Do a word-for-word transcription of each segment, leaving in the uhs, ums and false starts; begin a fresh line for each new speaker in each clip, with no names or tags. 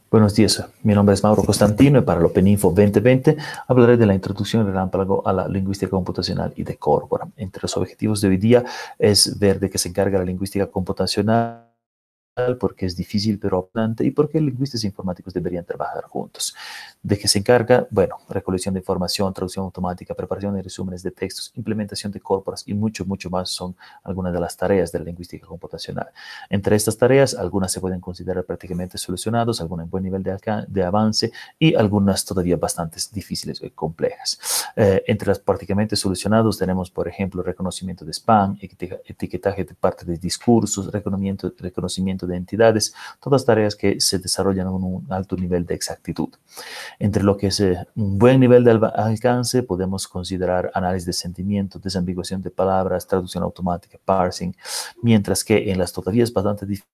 Buenos días, mi nombre es Mauro Costantino y para el OpenInfo veinte veinte hablaré de la introducción relámpago a la lingüística computacional y de Corpora. Entre los objetivos de hoy día es ver de qué se encarga la lingüística computacional, porque es difícil pero apasionante y porque lingüistas e informáticos deberían trabajar juntos. ¿De qué se encarga? Bueno, recolección de información, traducción automática, preparación de resúmenes de textos, implementación de corporas y mucho, mucho más son algunas de las tareas de la lingüística computacional. Entre estas tareas, algunas se pueden considerar prácticamente solucionadas, algunas en buen nivel de, de avance y algunas todavía bastante difíciles y complejas. Eh, entre las prácticamente solucionadas tenemos, por ejemplo, reconocimiento de spam, etiquetaje de parte de discursos, reconocimiento, reconocimiento de entidades, todas tareas que se desarrollan con un alto nivel de exactitud. Entre lo que es eh, un buen nivel de alcance, podemos considerar análisis de sentimientos, desambiguación de palabras, traducción automática, parsing, mientras que en las todavía es bastante difíciles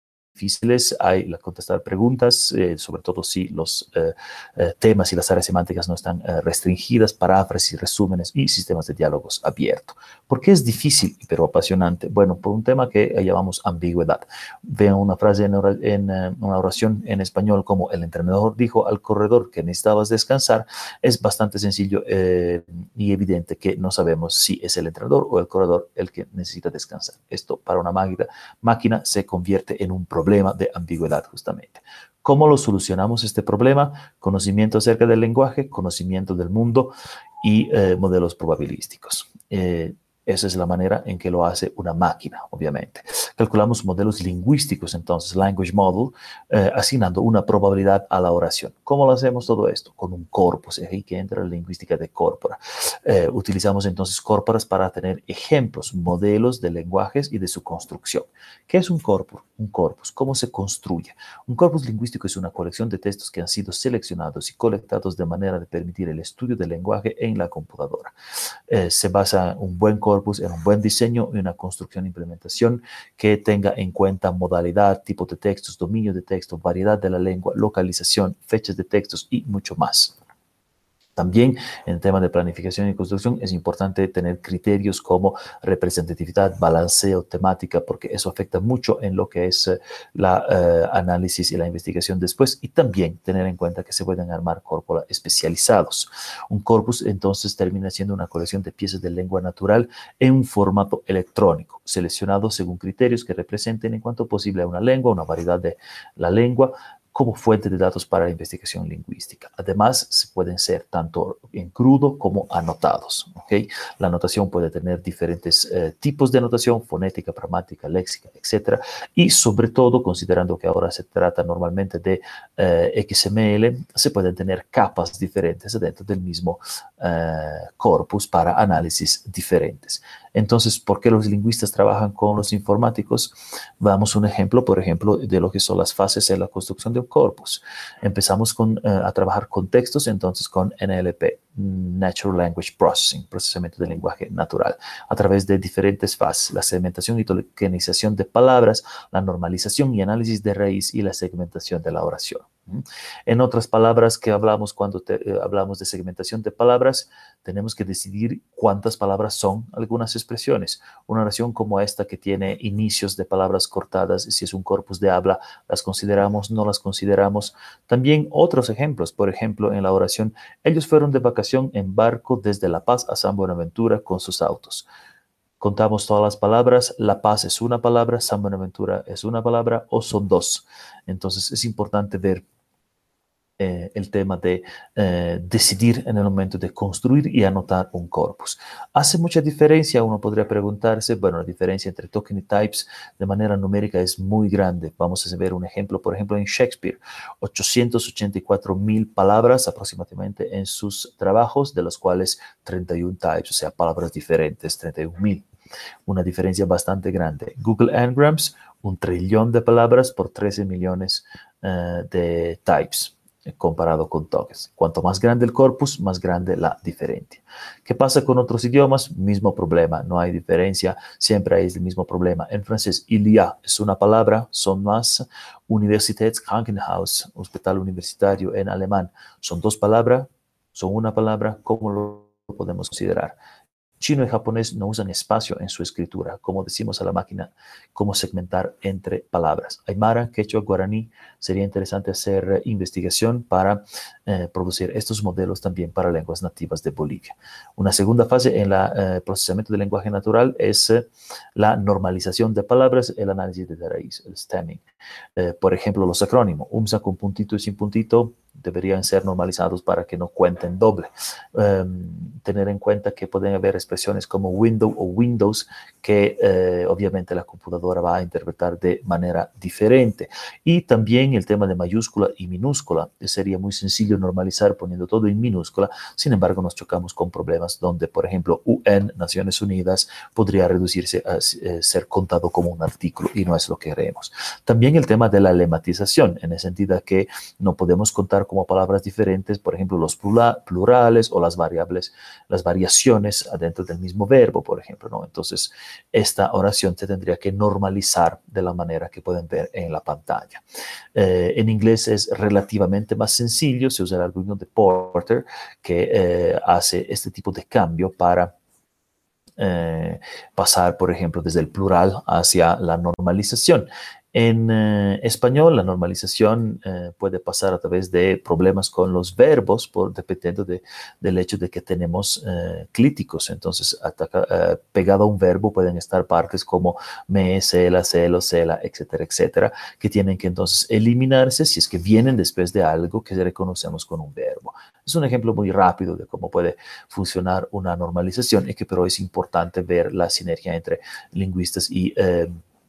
hay la contestar preguntas, eh, sobre todo si los eh, eh, temas y las áreas semánticas no están eh, restringidas, paráfrasis, resúmenes y sistemas de diálogos abiertos. ¿Por qué es difícil pero apasionante? Bueno, por un tema que llamamos ambigüedad. Vean una frase en, en uh, una oración en español como el entrenador dijo al corredor que necesitabas descansar. Es bastante sencillo eh, y evidente que no sabemos si es el entrenador o el corredor el que necesita descansar. Esto para una máquina, máquina se convierte en un problema problema de ambigüedad justamente. ¿Cómo lo solucionamos este problema? Conocimiento acerca del lenguaje, conocimiento del mundo y eh, modelos probabilísticos. Eh, esa es la manera en que lo hace una máquina, obviamente. Calculamos modelos lingüísticos, entonces, language model, eh, asignando una probabilidad a la oración. ¿Cómo lo hacemos todo esto? Con un corpus, ahí que entra la lingüística de corpora. Eh, utilizamos entonces corporas para tener ejemplos, modelos de lenguajes y de su construcción. ¿Qué es un corpus? Un corpus, ¿cómo se construye? Un corpus lingüístico es una colección de textos que han sido seleccionados y colectados de manera de permitir el estudio del lenguaje en la computadora. Eh, se basa un buen corpus en un buen diseño y una construcción e implementación que tenga en cuenta modalidad, tipo de textos, dominio de texto, variedad de la lengua, localización, fechas de textos y mucho más. También en el tema de planificación y construcción es importante tener criterios como representatividad, balanceo, temática, porque eso afecta mucho en lo que es la uh, análisis y la investigación después, y también tener en cuenta que se pueden armar corpora especializados. Un corpus entonces termina siendo una colección de piezas de lengua natural en un formato electrónico, seleccionado según criterios que representen en cuanto posible a una lengua, una variedad de la lengua, como fuente de datos para la investigación lingüística. Además, se pueden ser tanto en crudo como anotados. ¿Okay? La anotación puede tener diferentes eh, tipos de anotación, fonética, pragmática, léxica, etcétera. Y sobre todo, considerando que ahora se trata normalmente de eh, X M L, se pueden tener capas diferentes dentro del mismo eh, corpus para análisis diferentes. Entonces, ¿por qué los lingüistas trabajan con los informáticos? Damos un ejemplo, por ejemplo, de lo que son las fases en la construcción de un corpus. Empezamos con, uh, a trabajar con textos, entonces con N L P, Natural Language Processing, procesamiento del lenguaje natural, a través de diferentes fases, la segmentación y tokenización de palabras, la normalización y análisis de raíz y la segmentación de la oración. En otras palabras que hablamos cuando te, eh, hablamos de segmentación de palabras, tenemos que decidir cuántas palabras son algunas expresiones. Una oración como esta que tiene inicios de palabras cortadas, si es un corpus de habla, las consideramos, no las consideramos. También otros ejemplos, por ejemplo, en la oración, ellos fueron de vacación en barco desde La Paz a San Buenaventura con sus autos. Contamos todas las palabras, La Paz es una palabra, San Buenaventura es una palabra o son dos. Entonces es importante ver Eh, el tema de eh, decidir en el momento de construir y anotar un corpus. ¿Hace mucha diferencia? Uno podría preguntarse, bueno, la diferencia entre token y types de manera numérica es muy grande. Vamos a ver un ejemplo, por ejemplo, en Shakespeare, ochocientas ochenta y cuatro mil palabras aproximadamente en sus trabajos, de los cuales treinta y uno types, o sea, palabras diferentes, treinta y un mil. Una diferencia bastante grande. Google Ngrams, un trillón de palabras por trece millones uh, de types comparado con tokens. Cuanto más grande el corpus, más grande la diferencia. ¿Qué pasa con otros idiomas? Mismo problema, no hay diferencia, siempre hay el mismo problema. En francés, il y a es una palabra, son más. Universitätskrankenhaus, hospital universitario en alemán, son dos palabras, son una palabra, ¿cómo lo podemos considerar? Chino y japonés no usan espacio en su escritura, como decimos a la máquina, cómo segmentar entre palabras. Aymara, quechua, guaraní, sería interesante hacer eh, investigación para eh, producir estos modelos también para lenguas nativas de Bolivia. Una segunda fase en el procesamiento del lenguaje natural es eh, la normalización de palabras, el análisis de raíz, el stemming. Eh, por ejemplo, los acrónimos, U M S A con puntito y sin puntito, deberían ser normalizados para que no cuenten doble. Um, tener en cuenta que pueden haber expresiones como window o windows que eh, obviamente la computadora va a interpretar de manera diferente. Y también el tema de mayúscula y minúscula. Sería muy sencillo normalizar poniendo todo en minúscula, sin embargo nos chocamos con problemas donde, por ejemplo, U N, Naciones Unidas, podría reducirse a eh, ser contado como un artículo y no es lo que queremos. También el tema de la lematización, en el sentido que no podemos contar como palabras diferentes, por ejemplo, los plurales o las variables, las variaciones adentro del mismo verbo, por ejemplo, ¿no? Entonces, esta oración se tendría que normalizar de la manera que pueden ver en la pantalla. Eh, en inglés es relativamente más sencillo, se usa el algoritmo de Porter, que eh, hace este tipo de cambio para eh, pasar, por ejemplo, desde el plural hacia la normalización. En eh, español, la normalización eh, puede pasar a través de problemas con los verbos, por, dependiendo de, del hecho de que tenemos eh, clíticos. Entonces, ataca, eh, pegado a un verbo pueden estar partes como me, cela, celo, cela, etcétera, etcétera, que tienen que entonces eliminarse si es que vienen después de algo que reconocemos con un verbo. Es un ejemplo muy rápido de cómo puede funcionar una normalización y que pero es importante ver la sinergia entre lingüistas y eh,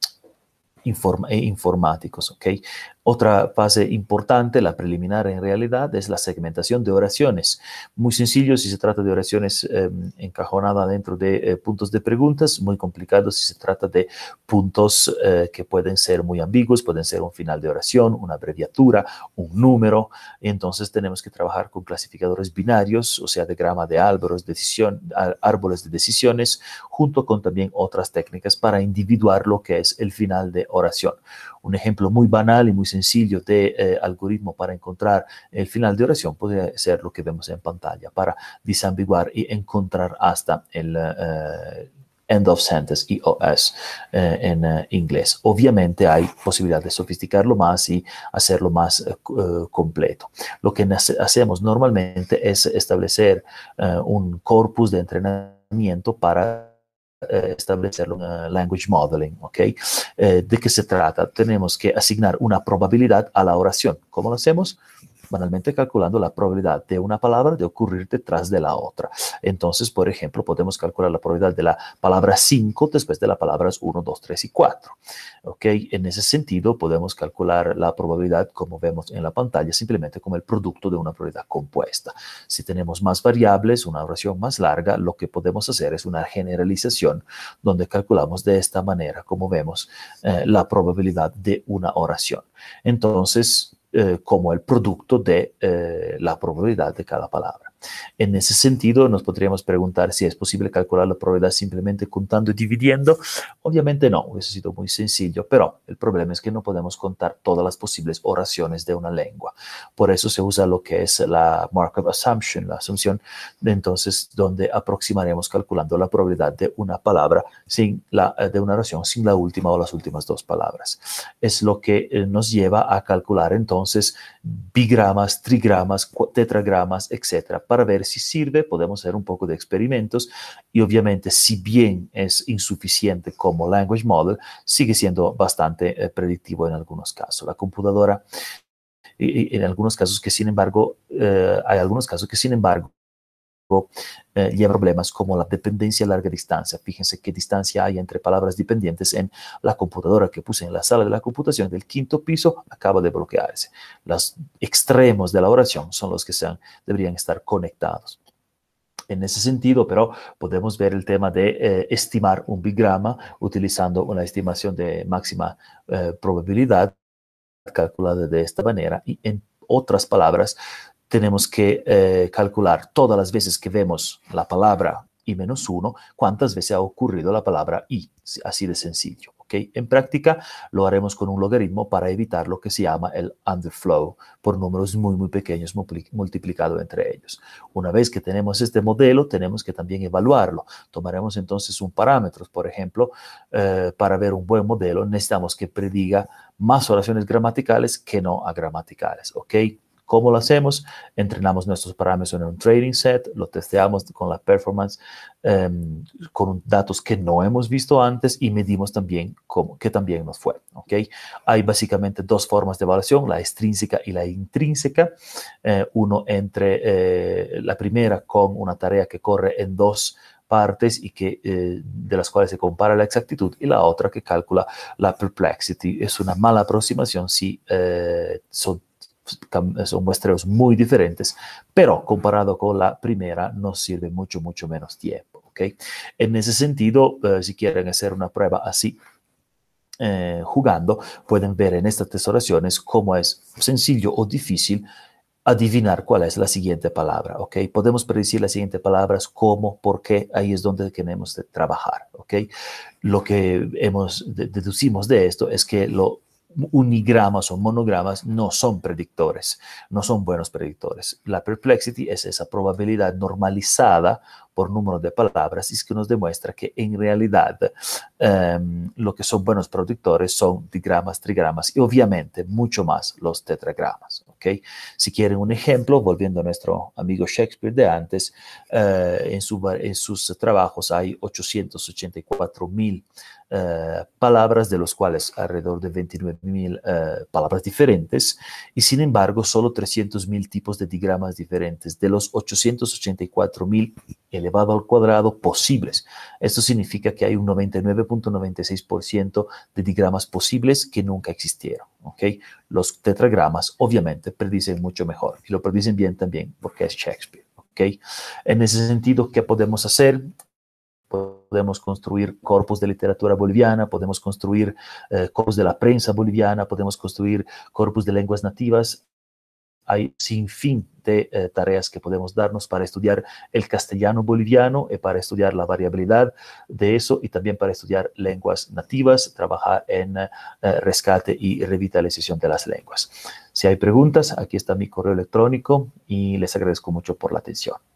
Inform e informáticos, ¿ok? Otra fase importante, la preliminar en realidad, es la segmentación de oraciones. Muy sencillo si se trata de oraciones eh, encajonadas dentro de eh, puntos de preguntas, muy complicado si se trata de puntos eh, que pueden ser muy ambiguos, pueden ser un final de oración, una abreviatura, un número. Entonces tenemos que trabajar con clasificadores binarios, o sea, de grama de árboles, decisión, árboles de decisiones, junto con también otras técnicas para individuar lo que es el final de oración. Un ejemplo muy banal y muy sencillo de eh, algoritmo para encontrar el final de oración podría ser lo que vemos en pantalla para disambiguar y encontrar hasta el uh, end of sentence, E O S, eh, en uh, inglés. Obviamente hay posibilidad de sofisticarlo más y hacerlo más uh, completo. Lo que hacemos normalmente es establecer uh, un corpus de entrenamiento para establecer un uh, language modeling, ¿ok? Eh, ¿De qué se trata? Tenemos que asignar una probabilidad a la oración. ¿Cómo lo hacemos? Banalmente calculando la probabilidad de una palabra de ocurrir detrás de la otra. Entonces, por ejemplo, podemos calcular la probabilidad de la palabra cinco después de las palabras uno, dos, tres y cuatro. ¿Ok? En ese sentido, podemos calcular la probabilidad, como vemos en la pantalla, simplemente como el producto de una probabilidad compuesta. Si tenemos más variables, una oración más larga, lo que podemos hacer es una generalización donde calculamos de esta manera, como vemos, eh, la probabilidad de una oración. Entonces, Eh, como el producto de eh, la probabilidad de cada palabra. En ese sentido, nos podríamos preguntar si es posible calcular la probabilidad simplemente contando y dividiendo. Obviamente no, hubiese sido muy sencillo, pero el problema es que no podemos contar todas las posibles oraciones de una lengua. Por eso se usa lo que es la Markov Assumption, la asunción de entonces donde aproximaremos calculando la probabilidad de una palabra sin la, de una oración sin la última o las últimas dos palabras. Es lo que eh, nos lleva a calcular entonces bigramas, trigramas, tetragramas, etcétera. Para ver si sirve, podemos hacer un poco de experimentos y obviamente si bien es insuficiente como language model, sigue siendo bastante eh, predictivo en algunos casos. La computadora, y, y en algunos casos que sin embargo, eh, hay algunos casos que sin embargo, Eh, lleva problemas como la dependencia a larga distancia. Fíjense qué distancia hay entre palabras dependientes en la computadora que puse en la sala de la computación del quinto piso, acaba de bloquearse. Los extremos de la oración son los que sean, deberían estar conectados. En ese sentido, pero podemos ver el tema de eh, estimar un bigrama utilizando una estimación de máxima eh, probabilidad calculada de esta manera y en otras palabras, tenemos que eh, calcular todas las veces que vemos la palabra i menos uno, cuántas veces ha ocurrido la palabra i, así de sencillo. ¿ok? En práctica lo haremos con un logaritmo para evitar lo que se llama el underflow por números muy, muy pequeños multiplicado entre ellos. Una vez que tenemos este modelo, tenemos que también evaluarlo. Tomaremos entonces un parámetro, por ejemplo, eh, para ver un buen modelo necesitamos que prediga más oraciones gramaticales que no agramaticales, ¿ok? ¿Cómo lo hacemos? Entrenamos nuestros parámetros en un training set, lo testeamos con la performance, eh, con datos que no hemos visto antes y medimos también cómo, que también nos fue. ¿Okay? Hay básicamente dos formas de evaluación, la extrínseca y la intrínseca. Eh, uno entre eh, la primera con una tarea que corre en dos partes y que, eh, de las cuales se compara la exactitud, y la otra que calcula la perplexity. Es una mala aproximación si eh, son son muestreos muy diferentes, pero comparado con la primera nos sirve mucho, mucho menos tiempo. ¿Okay? En ese sentido, eh, si quieren hacer una prueba así, eh, jugando, pueden ver en estas tres oraciones cómo es sencillo o difícil adivinar cuál es la siguiente palabra, ¿ok? Podemos predecir las siguientes palabras, cómo, por qué, ahí es donde tenemos que trabajar, ¿ok? Lo que hemos, deducimos de esto es que lo unigramas o monogramas no son predictores, no son buenos predictores. La perplexity es esa probabilidad normalizada por número de palabras y es que nos demuestra que en realidad um, lo que son buenos predictores son digramas, trigramas y obviamente mucho más los tetragramas. ¿Okay? Si quieren un ejemplo, volviendo a nuestro amigo Shakespeare de antes, uh, en, su, en sus trabajos hay ochocientos ochenta y cuatro mil Uh, palabras, de los cuales alrededor de veintinueve mil uh, palabras diferentes, y sin embargo solo trescientos mil tipos de digramas diferentes, de los ochocientos ochenta y cuatro mil elevado al cuadrado posibles. Esto significa que hay un noventa y nueve punto noventa y seis por ciento de digramas posibles que nunca existieron. ¿Okay? Los tetragramas obviamente predicen mucho mejor, y lo predicen bien también porque es Shakespeare. ¿Okay? En ese sentido, ¿qué podemos hacer? Podemos construir corpus de literatura boliviana, podemos construir eh, corpus de la prensa boliviana, podemos construir corpus de lenguas nativas. Hay sin fin de eh, tareas que podemos darnos para estudiar el castellano boliviano y para estudiar la variabilidad de eso y también para estudiar lenguas nativas, trabajar en eh, rescate y revitalización de las lenguas. Si hay preguntas, aquí está mi correo electrónico y les agradezco mucho por la atención.